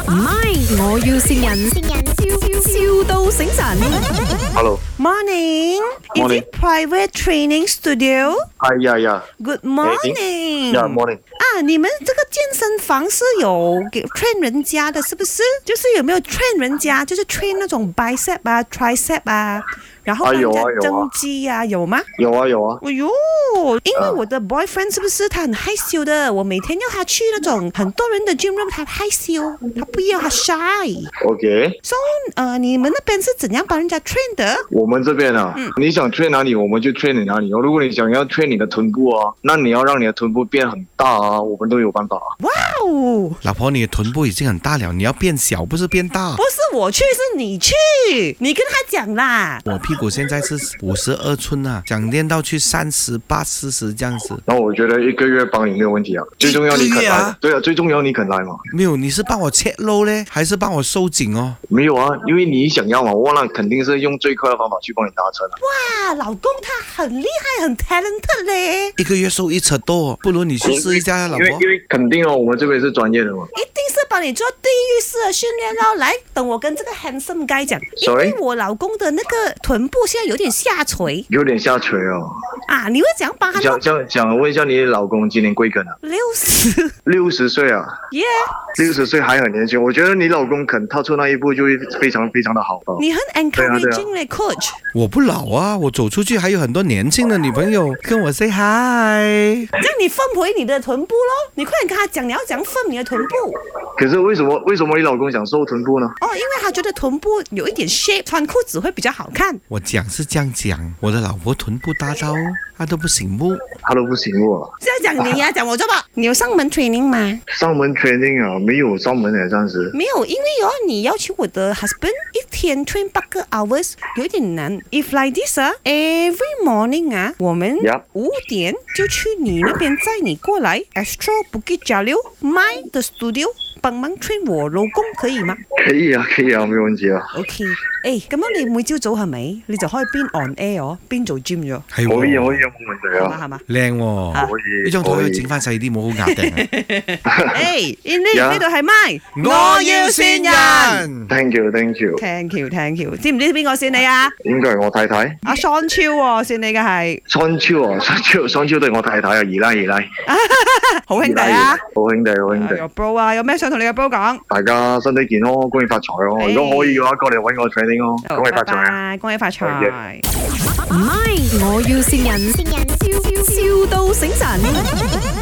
唔係，我要線人，笑到醒神。 Hello. Morning. Is Morning. it private training studio? Yeah. Good morning. Yeah, morning. 啊，你们这个健身房是有给 train 人家的，是不是？就是有没有 train 人家，就是 train 那种 bicep 啊、tricep 啊，然后帮人家增肌啊，有吗？ 有啊。 哎呦，因为我的 boyfriend 是不是他很害羞的？我每天要他去那种很多人的 gym room，他害羞，他不要，他 shy。 OK. So， 你们那边是怎样帮人家 train 的？ 我们这边啊，你想 train 哪里，我们就 train 你哪里。如果你想要 train 你的臀部啊，那你要让你的臀部变很大啊，我们都有办法。 哇哦！ 老婆，你的臀部已经很大了，你要变小，不是变大。 不是我去，是你去，你跟他讲啦。 我屁股现在是52寸啊，想练到去38、40这样子。 然后我觉得1个月帮你没有问题啊，最重要你肯来。 啊？ 对啊，最重要你肯来嘛。 没有，你是帮我切肉嘞，还是帮我收紧哦？ 没有啊，因为你想要嘛，我那肯定是用最快的方法去帮你达成。 哇，老公他很厉害，很 talented 嘞。 1个月收1尺多，不如你去试一下，老婆。 因为肯定哦，我们这边是专业的嘛。 一定是帮你做地狱式的训练咯。来，等我跟这个 handsome guy 讲，因 Sorry？ 为我老公的那个臀部现在有点下垂有点下垂哦。 啊，你会怎样帮他弄想问一下你老公今年贵庚啊 ？60 ？60岁啊。 耶 ，60岁还很年轻，我觉得你老公肯踏出那一步就会非常非常的好。 你很 encouraging 嘞 ，coach。 我不老啊，我走出去还有很多年轻的女朋友跟我 say hi。 这样你分回你的臀部咯，你快点跟他讲，你要怎样分你的臀部。 可是为什么你老公想瘦臀部呢？ 哦，因为他觉得臀部有一点 shape， 穿裤子会比较好看。 我讲是这样讲，我的老婆臀部大到她都不醒目。 他都不醒目啊。 这样讲你呀，讲我做吧。你有上门 training 吗？ 上门 training 啊，没有上门的暂时。 没有，因为你要求我的 husband 一天 train 8个 hours 有点难。If like this 啊 ，every morning 啊，我们5点就去你那边载你过来 Astro Bukit Jalil My 的 studio 幫忙 train 我老公可以嗎？ 可以啊，沒問題啊。 OK， 咁樣你每朝早係咪你就可以邊 on air 邊做 gym 咗？ 係可以啊，冇問題啊。 係嘛？ 靚喎， 可以。 呢張台可以整翻細啲，冇好壓定。 呢度係咪？ 我要線人。 Thank you。 知唔知邊個線你啊？ 應該係我太太。 阿桑超喎，線你嘅係。 桑超對我太太啊，二奶。 好兄弟啊！ 好兄弟。 有 bro 啊，有咩想同你嘅 bro 講？ 大家身體健康，恭喜發財咯！如果可以嘅話，過嚟揾我 training 咯，恭喜發財啊！ 恭喜發財！ 唔係，我要線人，笑到醒神。